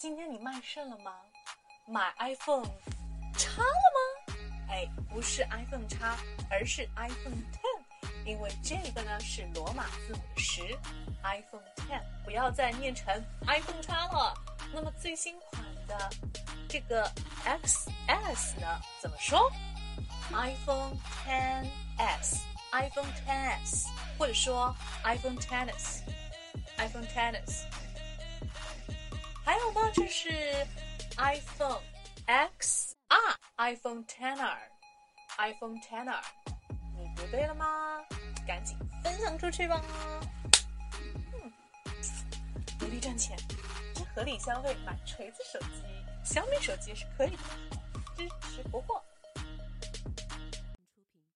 今天你卖肾了吗？买 iPhone 叉了吗？不是 iPhone 叉，而是 iPhone X， 因为这个呢是罗马字母的10 ，iPhone X， 不要再念成 iPhone 叉了。那么最新款的这个 XS 呢，怎么说？ iPhone XS，iPhone XS， 或者说 iPhone XS，iPhone XS。还有呢，就是 iPhone XR，iPhone XR，iPhone XR， 你读对了吗？赶紧分享出去吧！努力赚钱，合理消费，买锤子手机、小米手机是可以的，支持不惑。